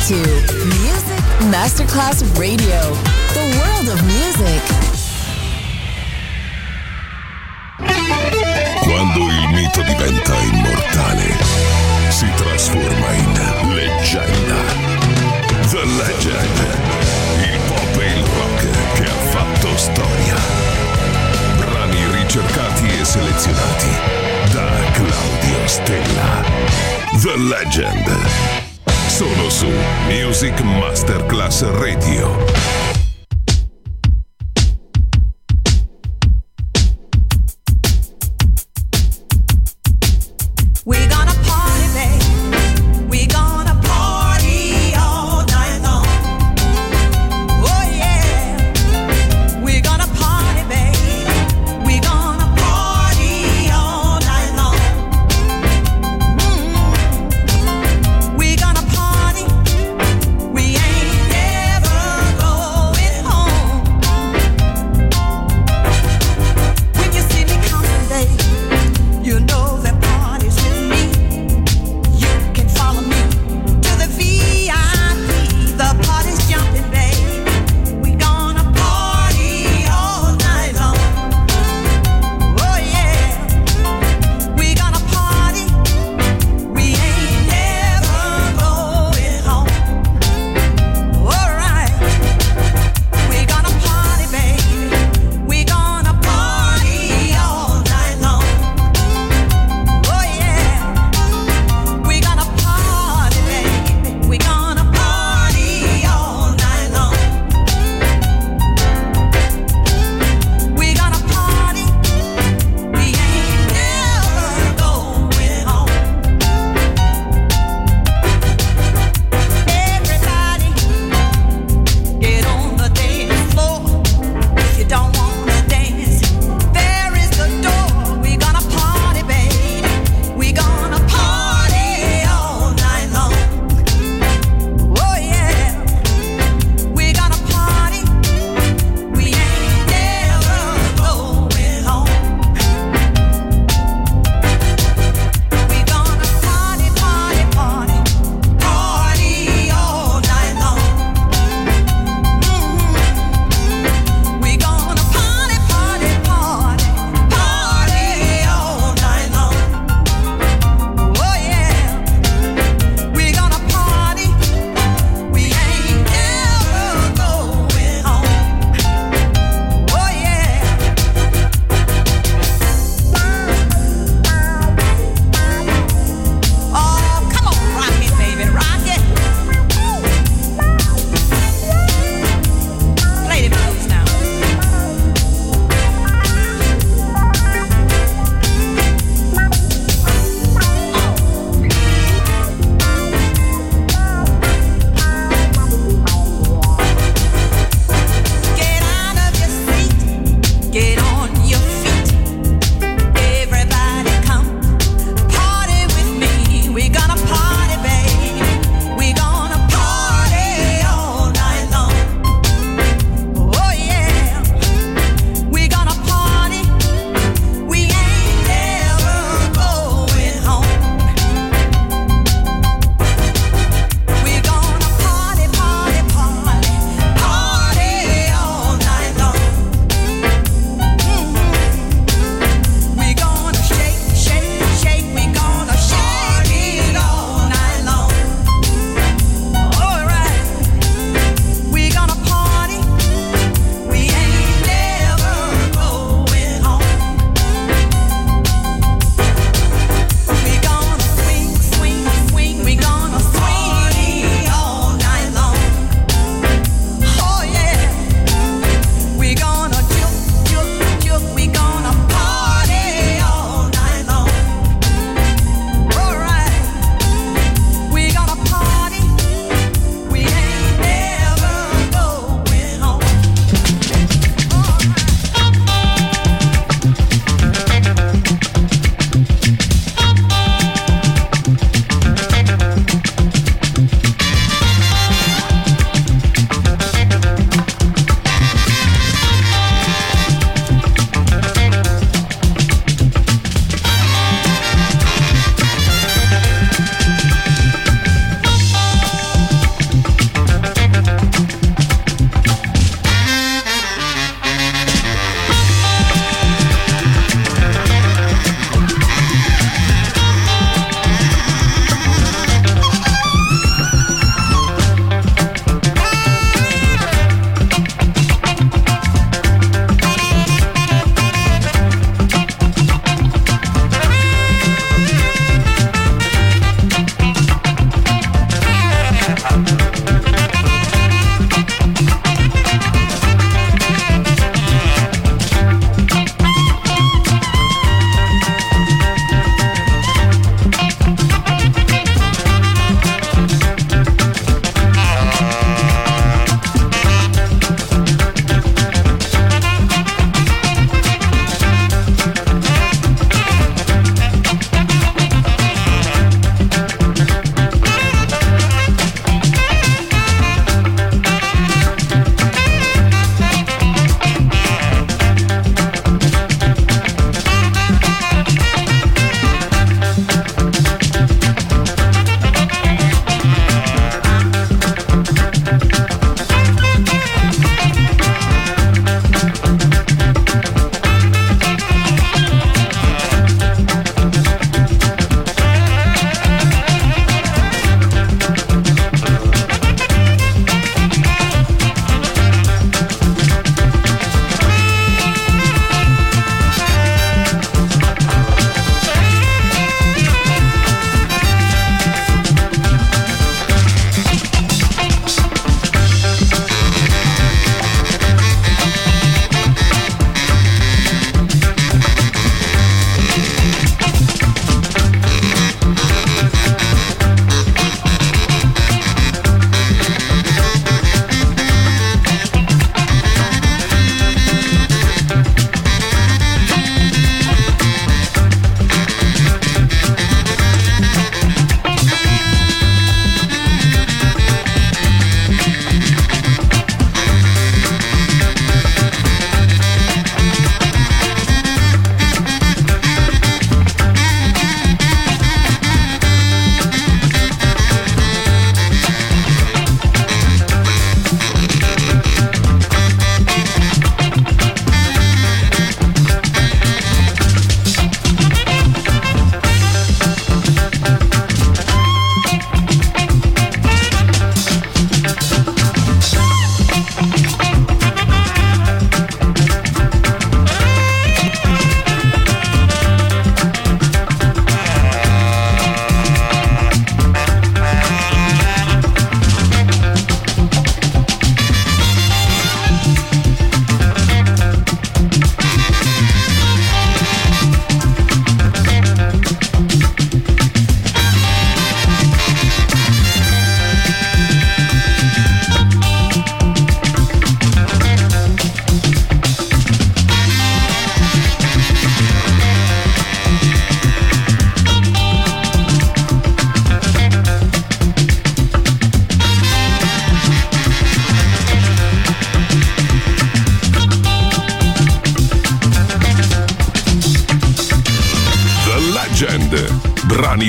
to Music Masterclass Radio, the world of music. Quando il mito diventa immortale, si trasforma in leggenda. The Legend, il pop e il rock che ha fatto storia. Brani ricercati e selezionati da Claudio Stella. The Legend, solo su Music Masterclass Radio. We ain't never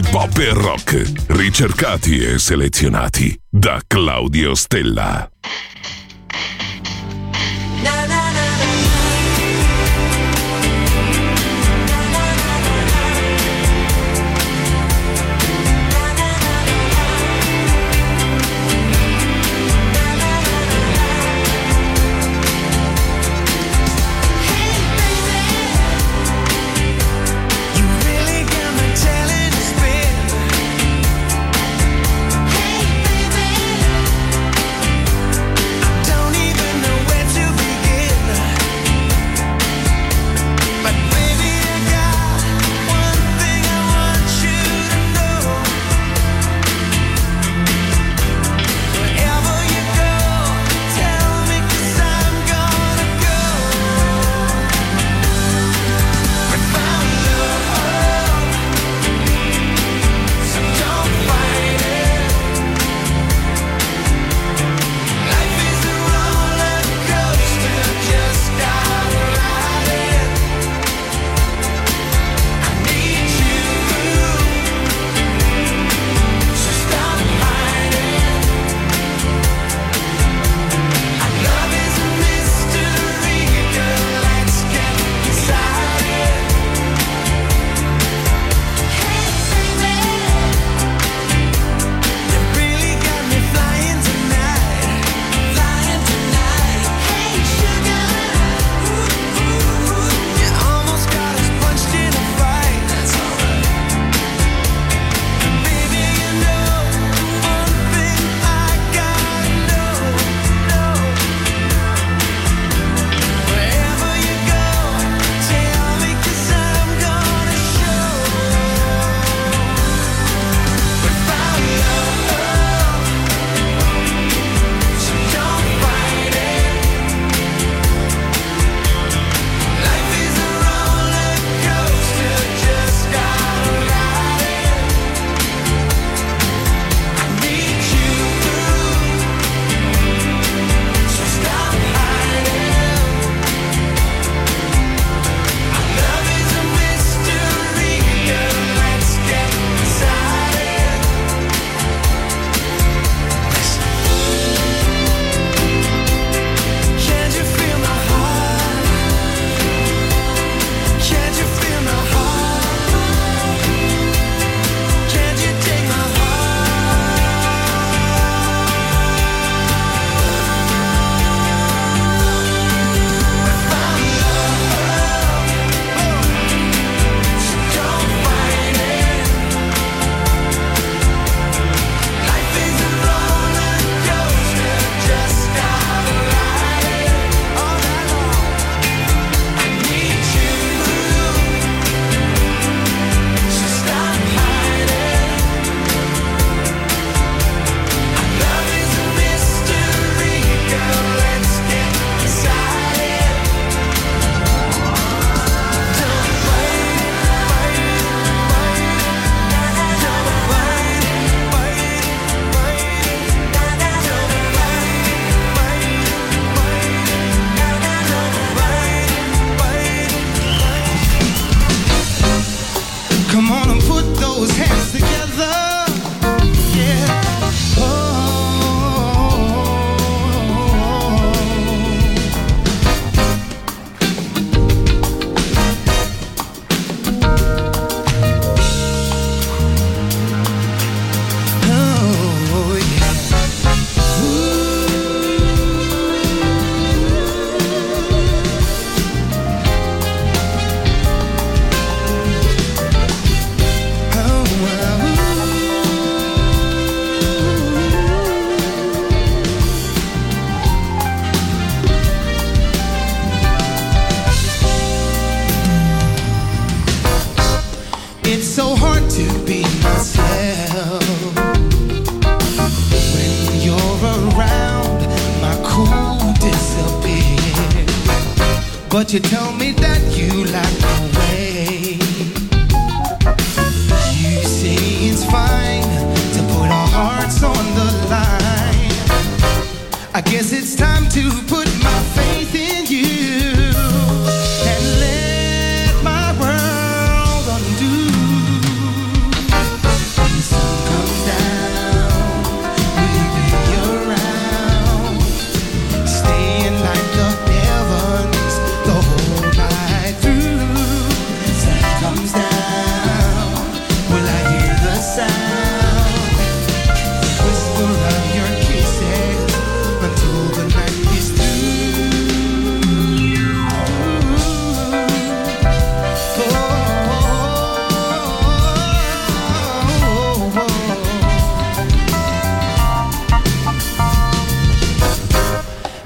pop e rock, ricercati e selezionati da Claudio Stella. But you tell me that you like my way. You say it's fine to put our hearts on the line. I guess it's time to put my faith in you and let my world undo.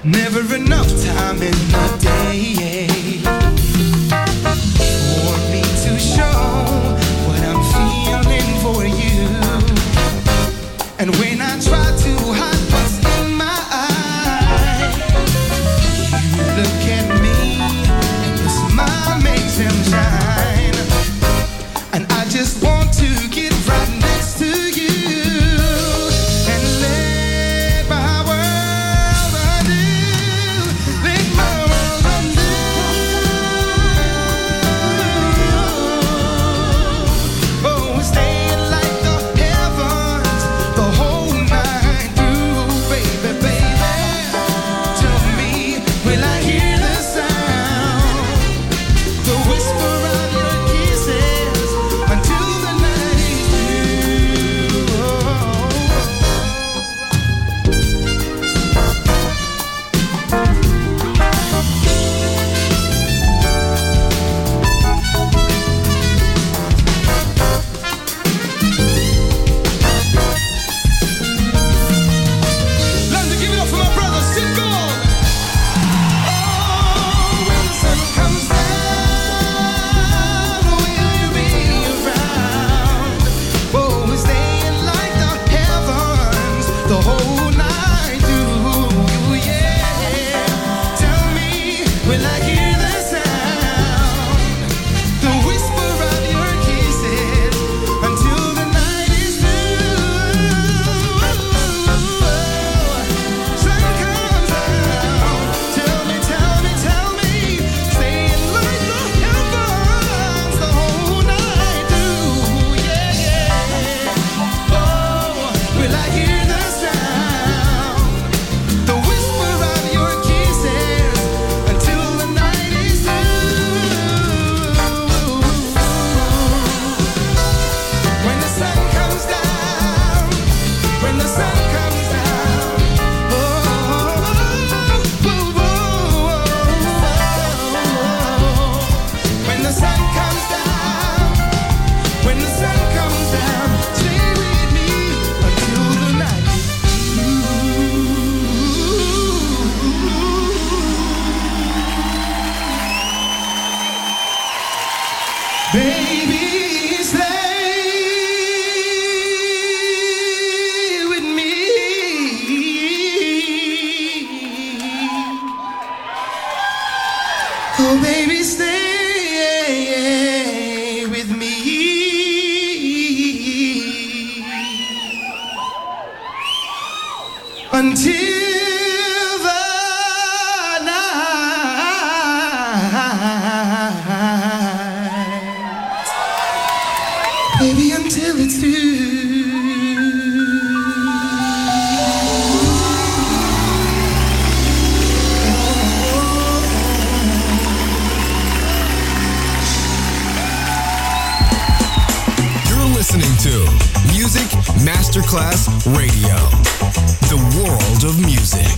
Never enough time in the day for me to show what I'm feeling for you. And when I try to hide what's in my eyes, you look at me and your smile makes them shine. And I just want to get right next to you. Masterclass Radio, the world of music.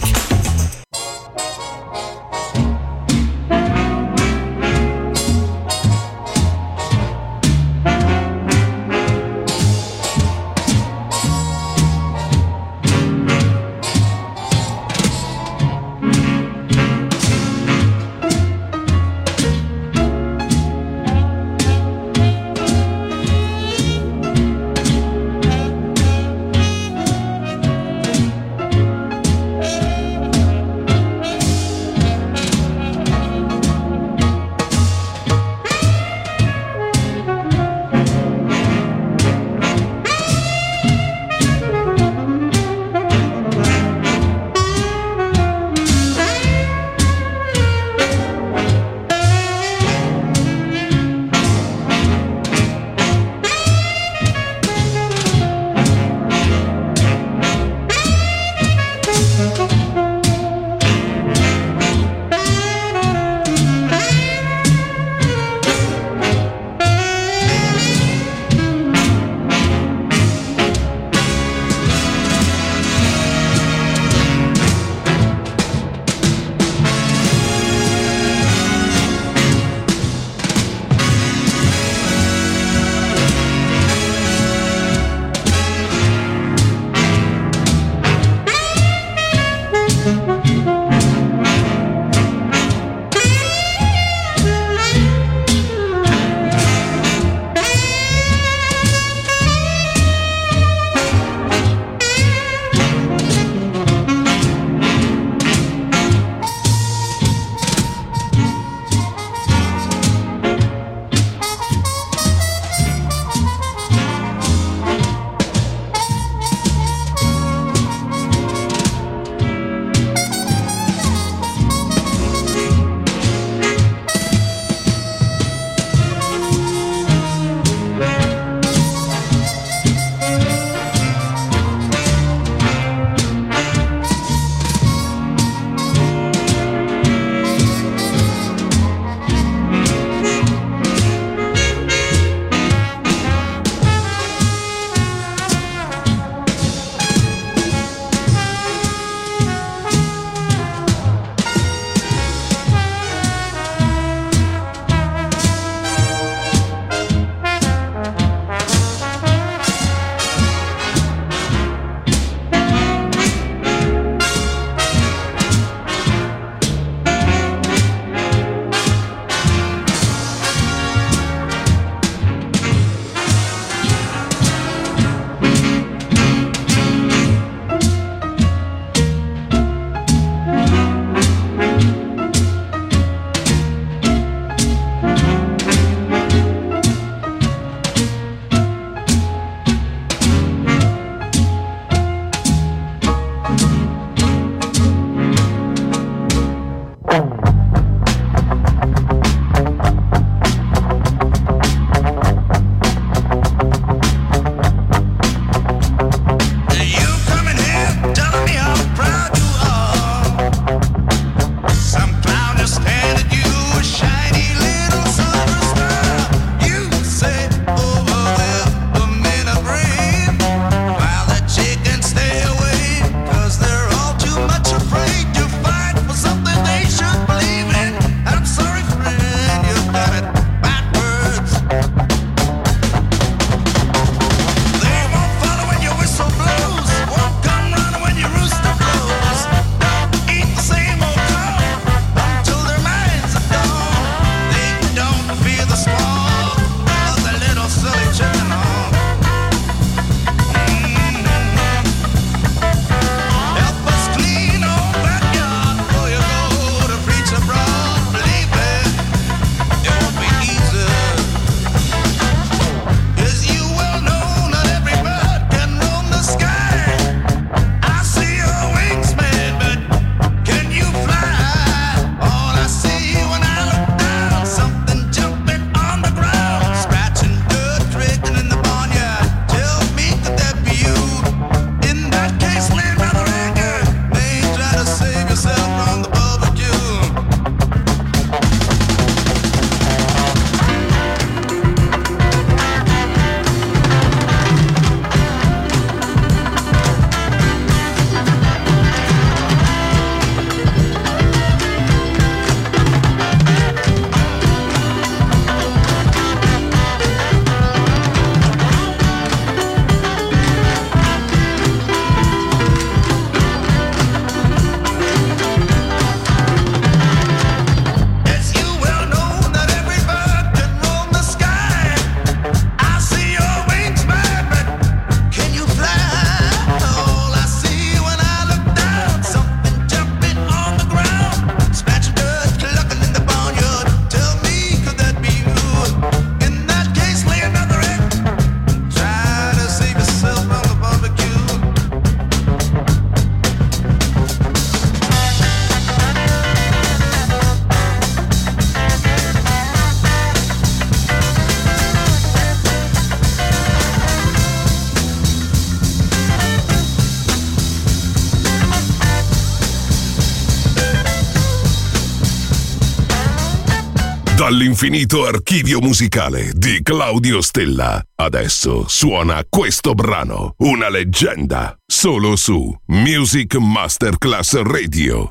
Dall'infinito archivio musicale di Claudio Stella. Adesso suona questo brano, una leggenda, solo su Music Masterclass Radio.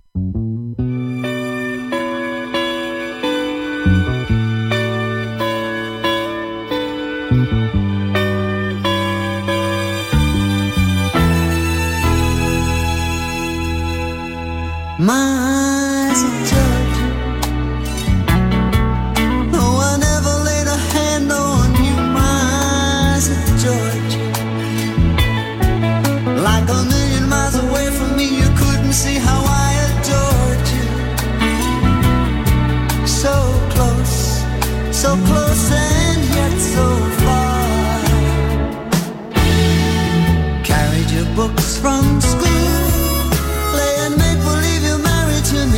My eyes are judged. No one ever laid a hand on you. My eyes are George. Like a million miles away from me, you couldn't see how I adored you. So close and yet so far. Carried your books from school, playing make believe you're married to me.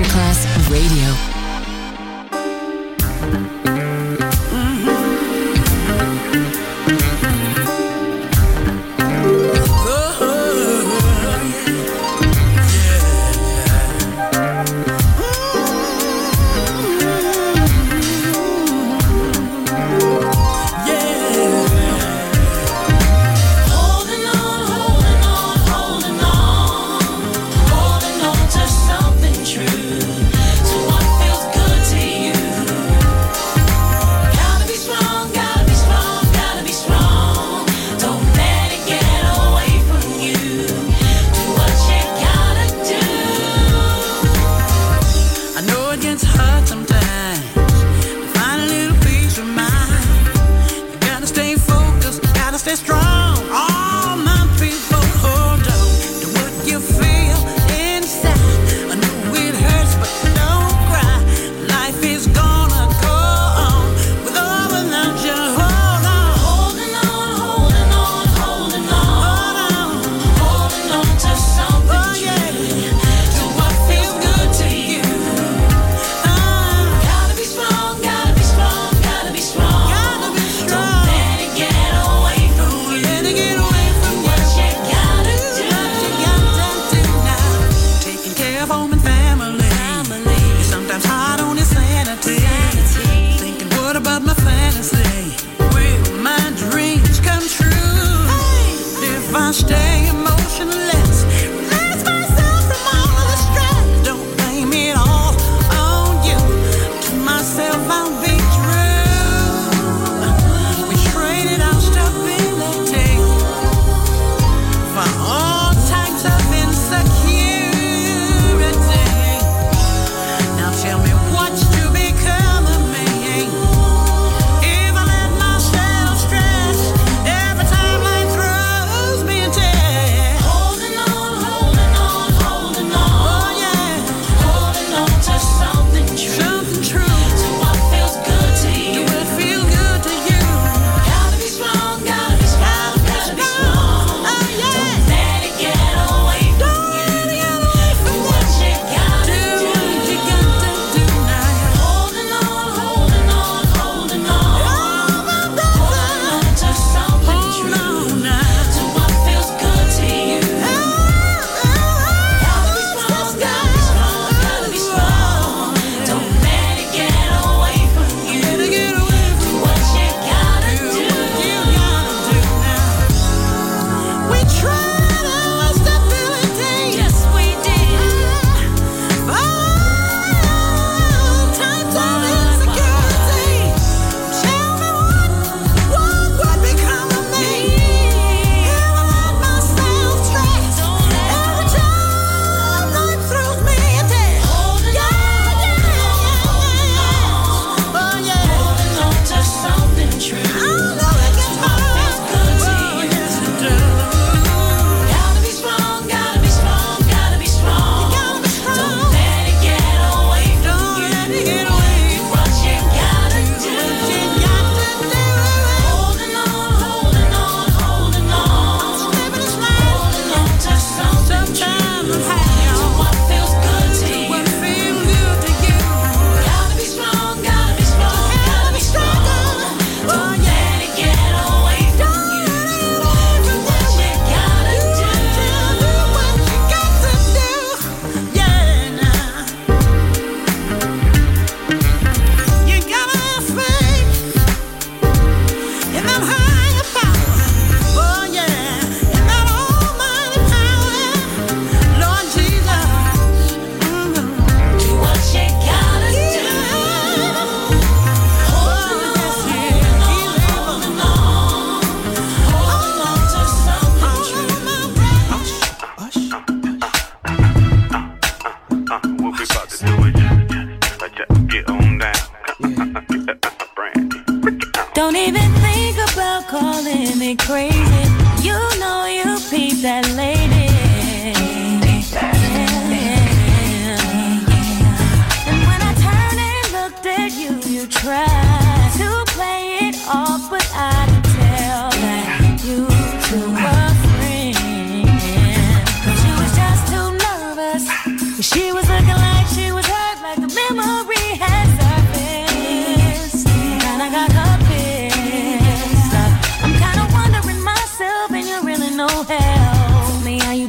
Masterclass Radio. Don't even think about calling me crazy. You know you beat that lady. And when I turned and looked at you, you tried to play it off, but I could tell that you two were friends. But she was just too nervous. She was looking like she was hurt.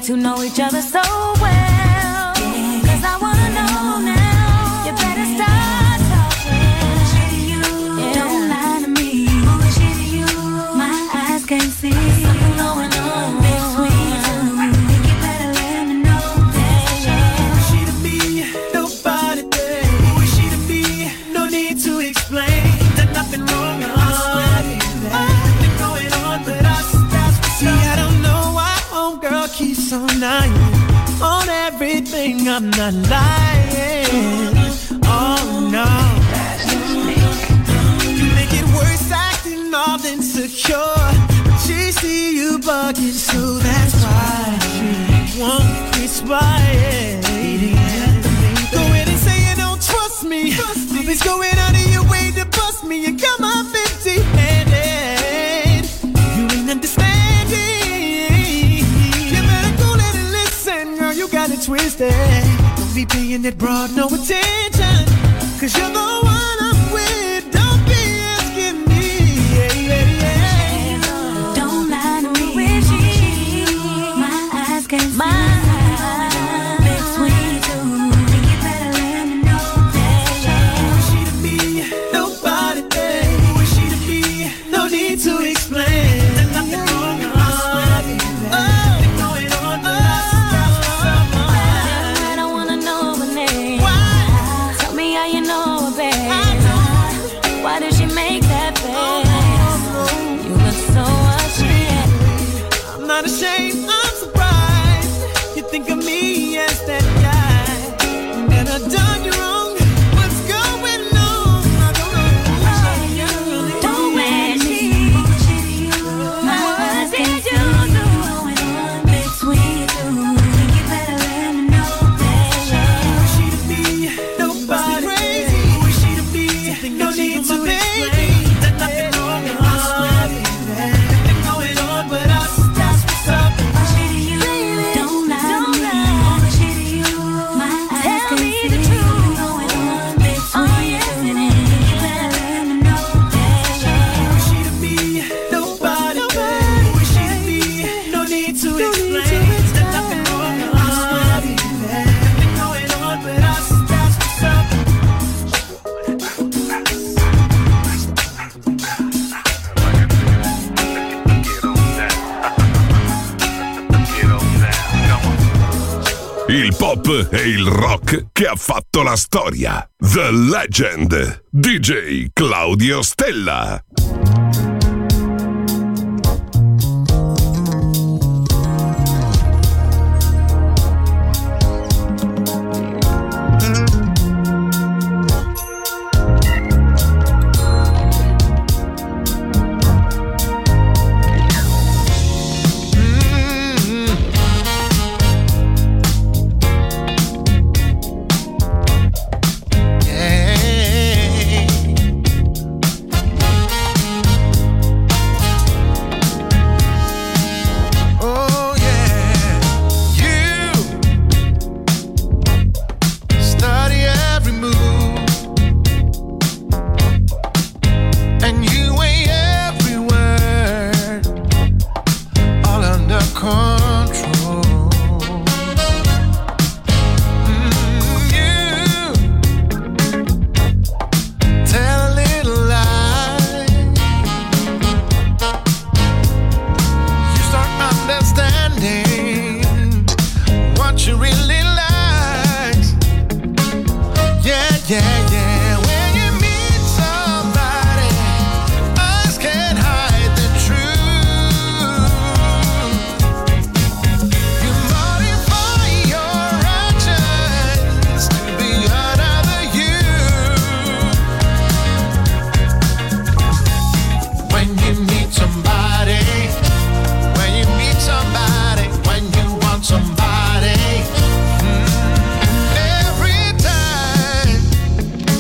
to know each other so well. 'Cause I wanna know now. You better start talking. Bullshit to you, don't lie to me. Bullshit to you, my eyes can't see. Something going on between you. Think you better let me know. Bullshit to me, nobody there. Bullshit to me, no need to explain. There's nothing wrong, I swear. Nothing going on, but see, I don't know why homegirl keeps on lying on everything. I'm not lying. Oh no, you make it worse, acting all insecure. She see you bugging, so that's why she won't quit spying. Go ahead and say you don't trust me. Always going out of your way to bust me and come up empty-handed. You ain't understanding. You better go let it listen, girl. You got it twisted. Don't be paying that broad no attention, 'cause you're the one I'm with. Don't be asking me. Don't lie to me. My eyes can't see. Between two. Think you better let me know. She to be nobody there. She to be no need to explain. There's nothing wrong, I swear. Nothing going on, but I don't wanna know her name. Tell me how you know her, babe. Why did she make that face? You look so ashamed. I'm not ashamed, I'm surprised. You think of me as that guy that I done you wrong. What's going on? I don't know. Don't let me. My eyes can't do going on between you. Think you better let me know, baby. She to be nobody crazy. She to be no need to explain. There's nothing wrong, I swear. Nothing going on, but that's what's up. Don't lie to me. My eyes can't see. Going on between you. Think you better let me know, baby. She to be nobody crazy. She to be no need to explain. There's nothing wrong, I swear. Nothing going on, but that's what's up. Il pop e il rock che ha fatto la storia. The Legend. DJ Claudio Stella. Oh yeah, you study every move, and you weigh every word, all under control. You tell a little lie. You start understanding what you really like. Yeah, yeah, yeah. When you meet somebody, eyes can't hide the truth. You modify your actions to be another you. When you meet somebody, when you meet somebody, when you want somebody, every time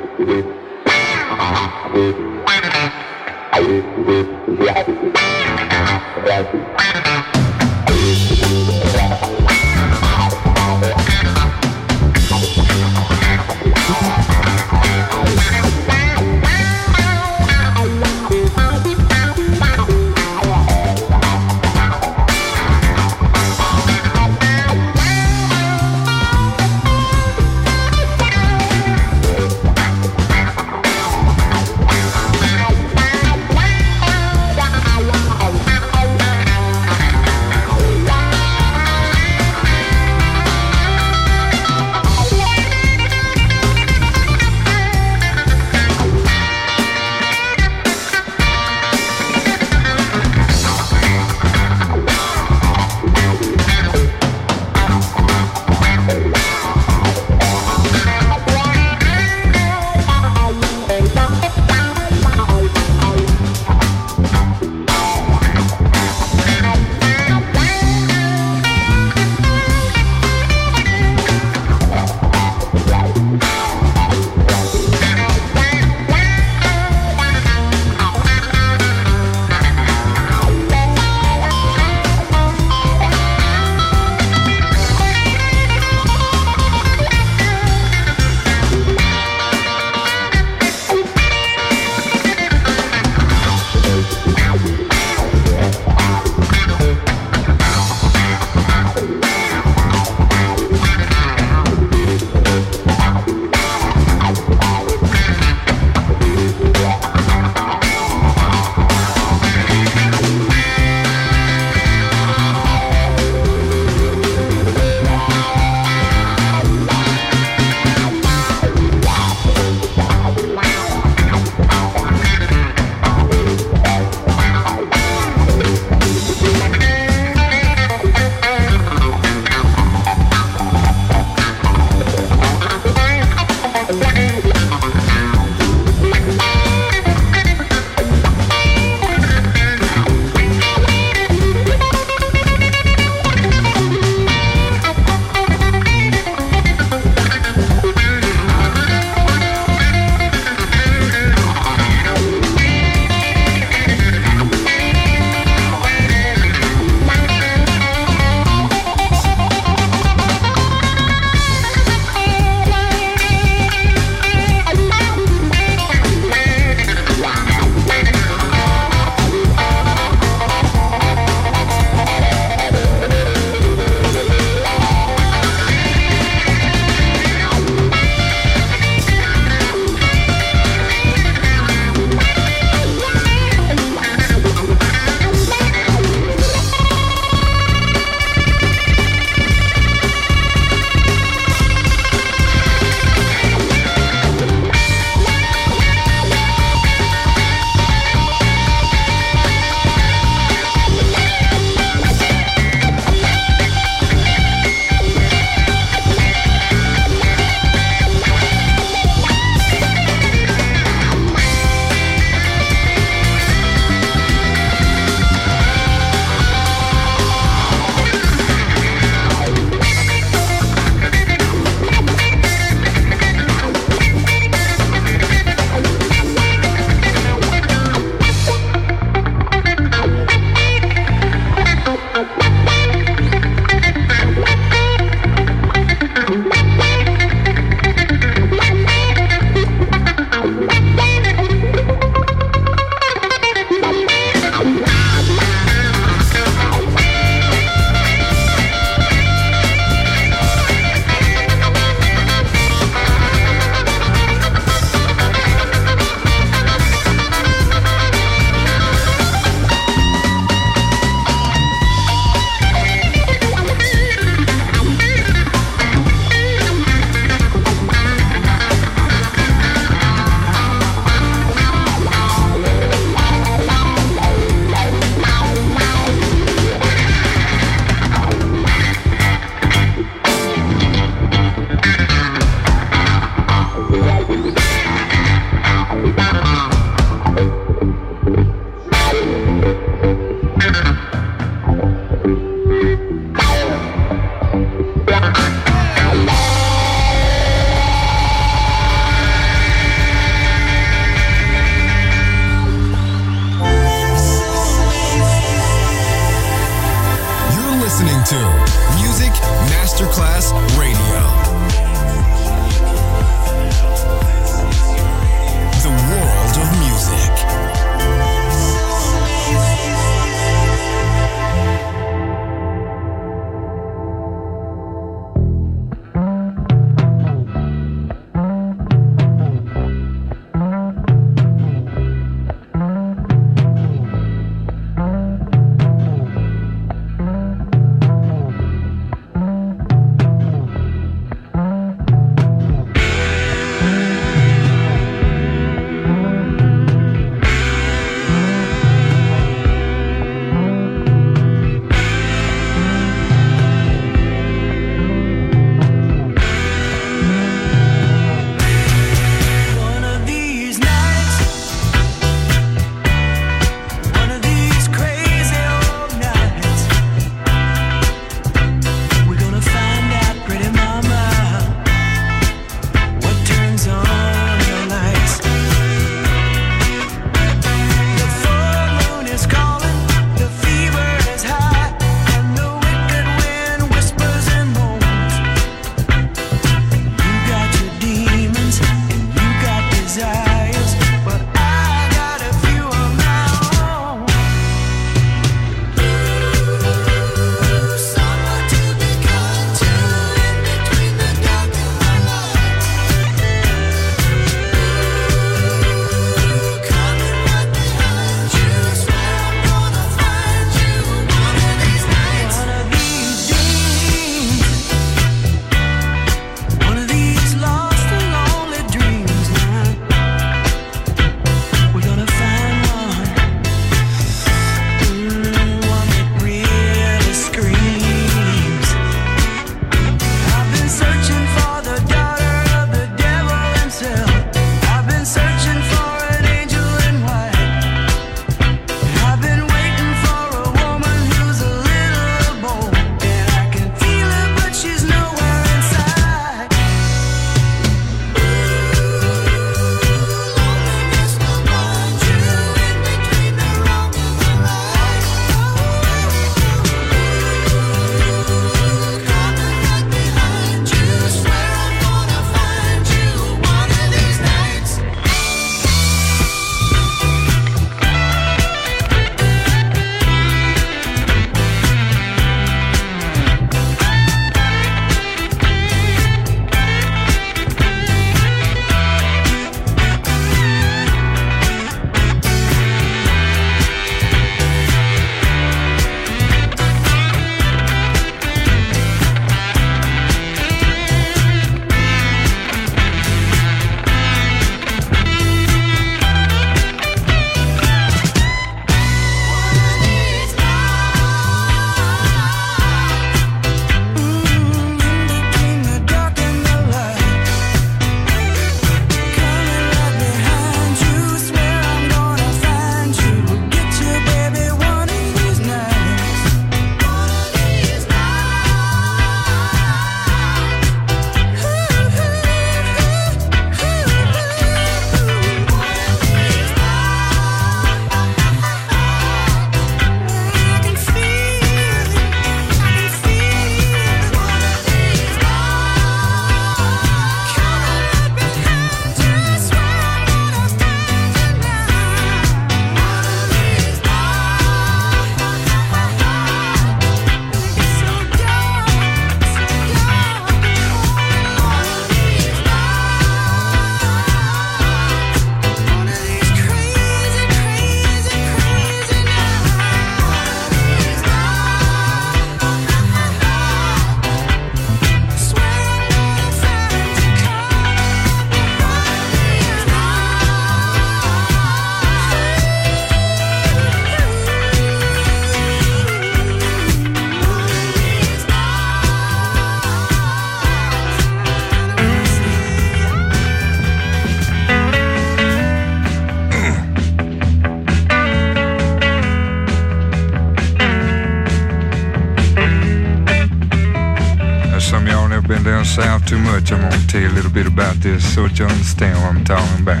South too much, I'm gonna tell you a little bit about this so that you understand what I'm talking about.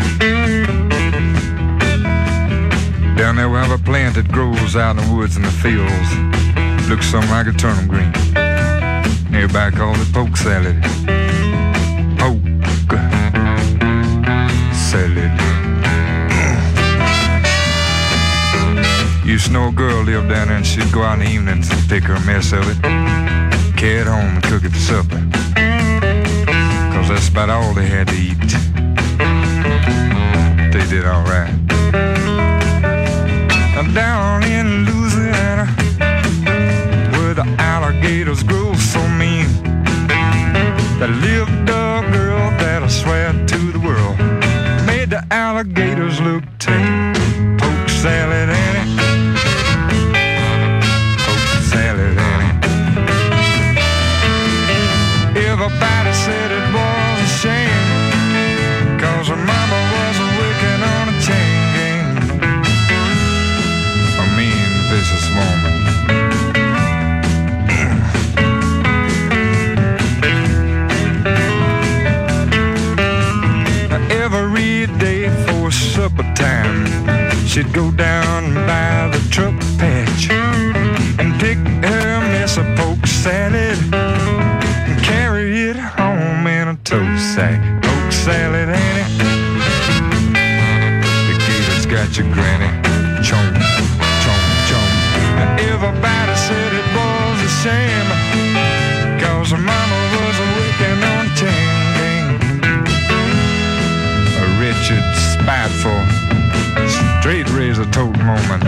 Down there we have a plant that grows out in the woods and the fields. Looks something like a turnip green. Everybody calls it poke salad. Poke salad. Used to know a girl lived down there and she'd go out in the evenings and pick her a mess of it, carry it home and cook it for supper. Cause that's about all they had to eat. They did alright. Down in Louisiana, where the alligators grow so mean, there lived a girl that I swear to the world made the alligators look tame. Poke salad Annie, poke salad Annie. Everybody said it was a shame, cause her mama was working on a chain gang. A mean, vicious woman. Every day for supper time, she'd go down by the truck patch and pick her mess of poke salad and carry it home in a tow sack. Poke salad, Annie. The gator's got your granny. Chomp, chomp, chomp. Everybody said it was a shame, cause her mama was working on a chain gang. A wretched, spiteful, straight razor totem woman.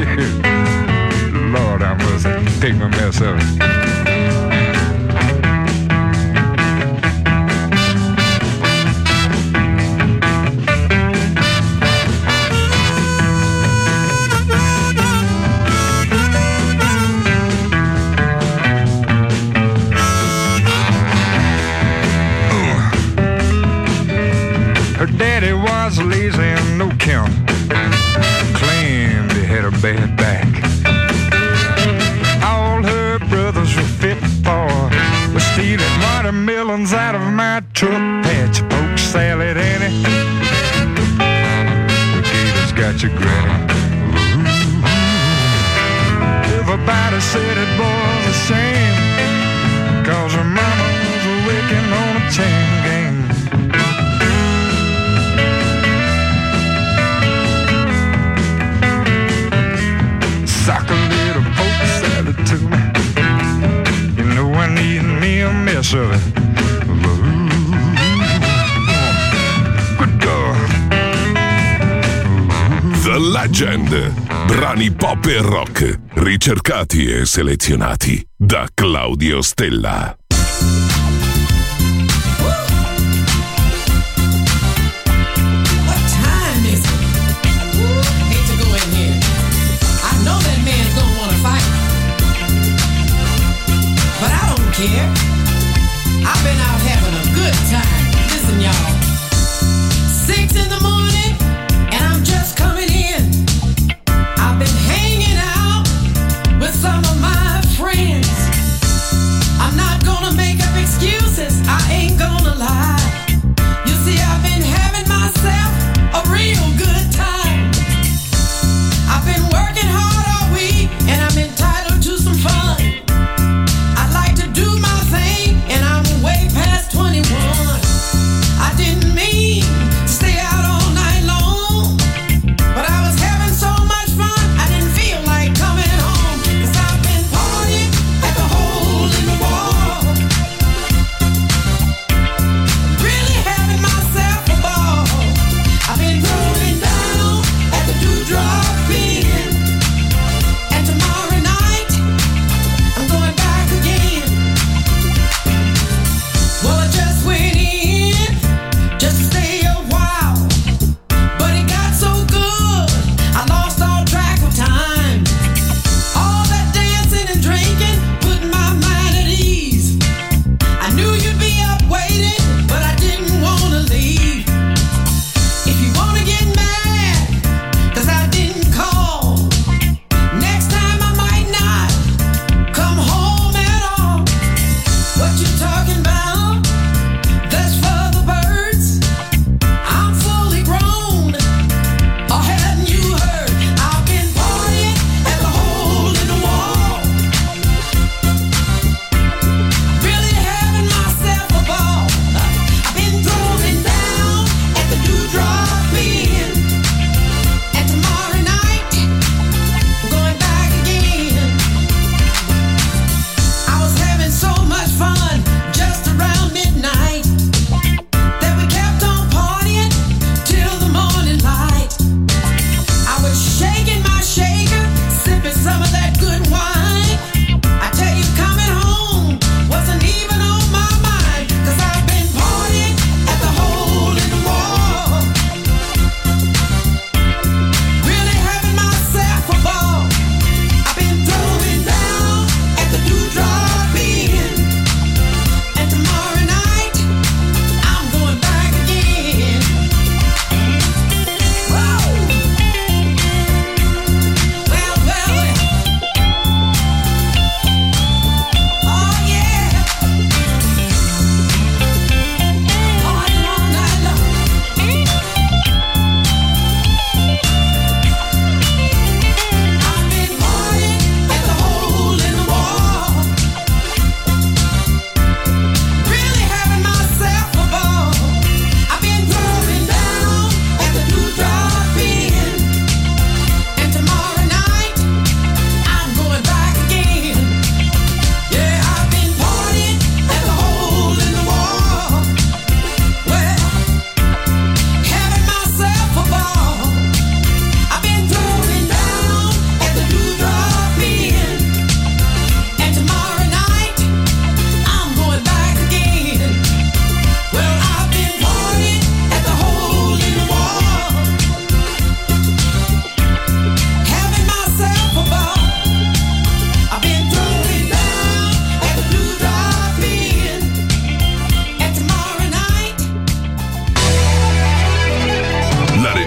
Lord, I must take my mess of it. Her daddy was lazy and no count, claimed he had a bad back. All her brothers were fit for was stealing watermelons out of my truck patch. Poke salad, Annie. The gator's got your granny. Everybody said it was a shame, cause her mama was working on a chain gang. Sock a little poke salad to me. You know I need me a mess of it. Good girl. The Legend. Brani pop e rock, ricercati e selezionati da Claudio Stella. Care. I've been out having a good time. Listen, y'all. 6 in the morning, and I'm just coming in. I've been hanging out with some of my friends. I'm not going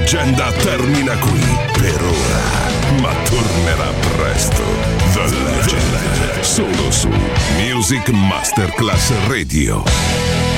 leggenda termina qui per ora, ma tornerà presto. The Legend, solo su Music Masterclass Radio.